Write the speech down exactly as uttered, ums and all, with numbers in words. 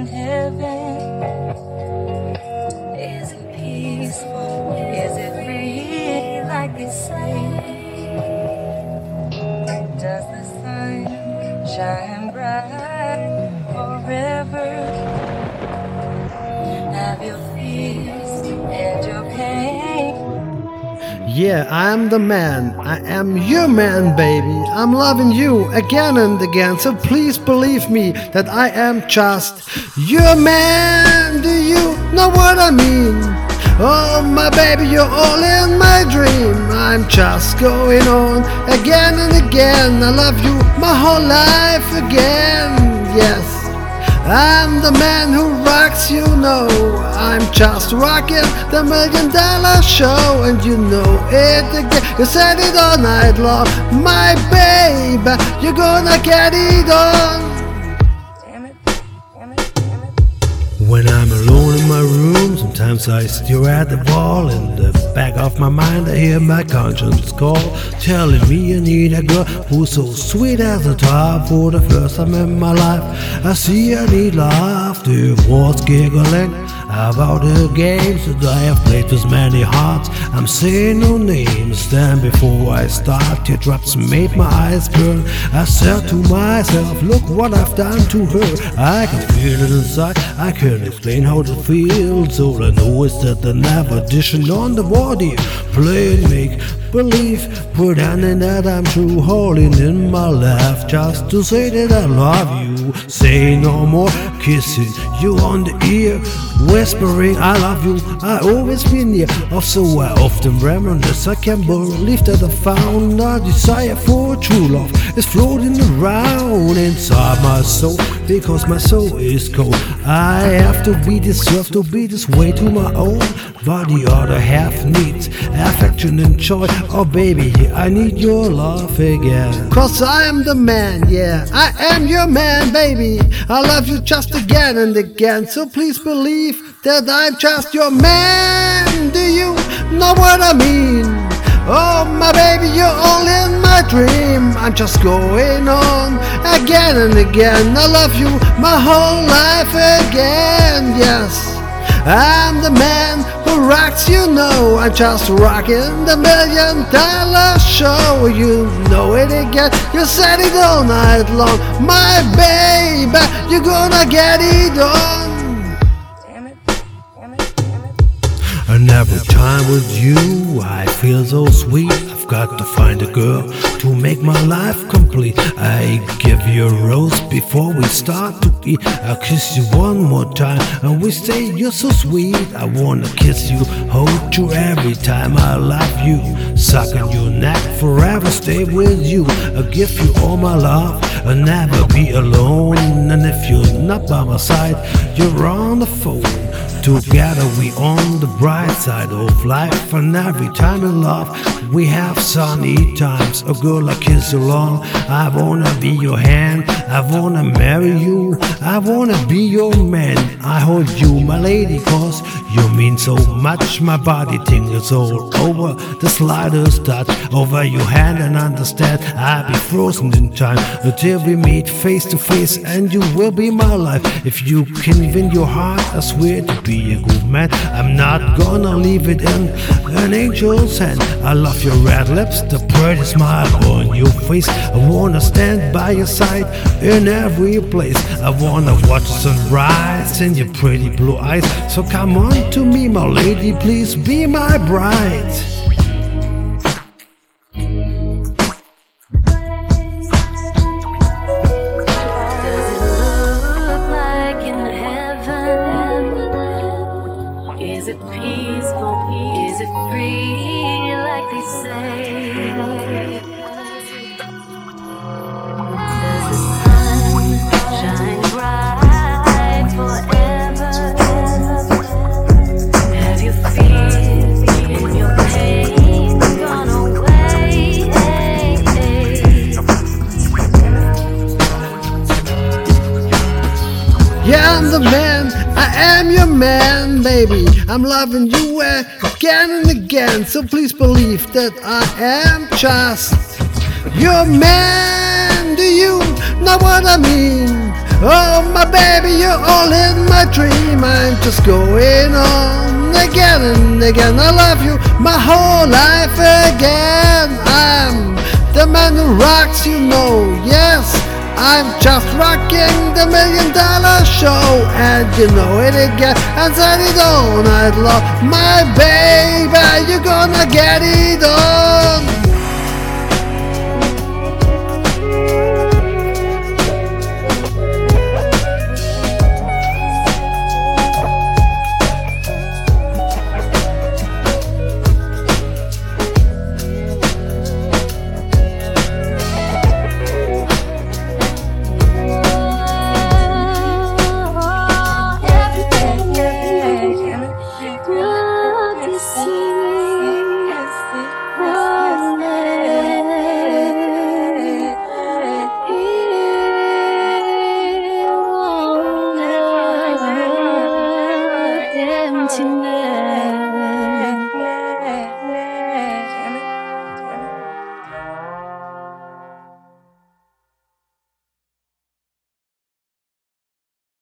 in heaven? Is it peaceful? Is it free like they say? Does the sun shine bright forever? Have your fears and your pain? Yeah, I'm the man. I am your man, baby. I'm loving you again and again. So please believe me that I am just your man. Do you know what I mean? Oh, my baby, you're all in my dream. I'm just going on again and again. I love you my whole life again. Yes, I'm the man who rocks, you know. I'm just rocking the million dollar show, and you know it again. You said it all night long, my baby. You're gonna get it on. Damn it, damn it, damn it. When I'm alone in my room, sometimes I stare at the wall. In the back of my mind I hear my conscience call, telling me I need a girl who's so sweet as a top. For the first time in my life I see I need love. The was giggling about the games that I have played with many hearts. I'm saying no names. Then before I start, teardrops made my eyes burn. I said to myself, look what I've done to her. I can feel it inside, I can't explain how it feels. All I know is that the never addition on the body, play make believe, pretending that I'm true, holding in my laugh just to say that I love you. Say no more, kissing you on the ear, whispering I love you. I always been near, also I often reminisce. I can't believe that I found a desire for true love is floating around inside my soul, because my soul is cold. I have to be this, have to be this way to my own, but the other half needs affection and joy. Oh baby, I need your love again. Cause I am the man, yeah, I am your man, baby. I love you just again and again. So please believe that I'm just your man. Do you know what I mean? Oh my baby, you're all in my dream. I'm just going on again and again. I love you my whole life again, yes. I'm the man who rocks, you know. I'm just rocking the million dollar show. You know it again, you said it all night long. My baby, you're gonna get it on. Damn it, damn it, damn it. And every time with you I feel so sweet. I've got to find a girl to make my life complete. I give you a rose before we start to eat. I'll kiss you one more time and we say you're so sweet. I wanna kiss you, hold you every time I love you. Suck on your neck, forever stay with you. I'll give you all my love, I'll never be alone. And if you're not by my side, you're on the phone. Together we on the bright side of life. And every time in love we have sunny times. A girl I kiss along, I wanna be your hand, I wanna marry you, I wanna be your man. I hold you my lady cause you mean so much. My body tingles all over the slightest touch over your hand, and understand I'll be frozen in time until we meet face to face, and you will be my life. If you can win your heart, I swear to be a good man. I'm not gonna leave it in an angel's hand. I love your red lips, the pretty smile on your face. I wanna stand by your side in every place. I wanna watch the sunrise in your pretty blue eyes. So come on to me, my lady, please be my bride. Is it peaceful? Is it free like they say? Does the sun shine bright forever? Have your fears and your pain gone away? Yeah, I'm the man, I am your man, baby. I'm loving you again and again. So please believe that I am just your man. Do you know what I mean? Oh, my baby, you're all in my dream. I'm just going on again and again. I love you my whole life again. I'm the man who rocks, you know, yes. I'm just rocking the million dollar show, and you know it again, and said it all night long. My baby, you're gonna get it on.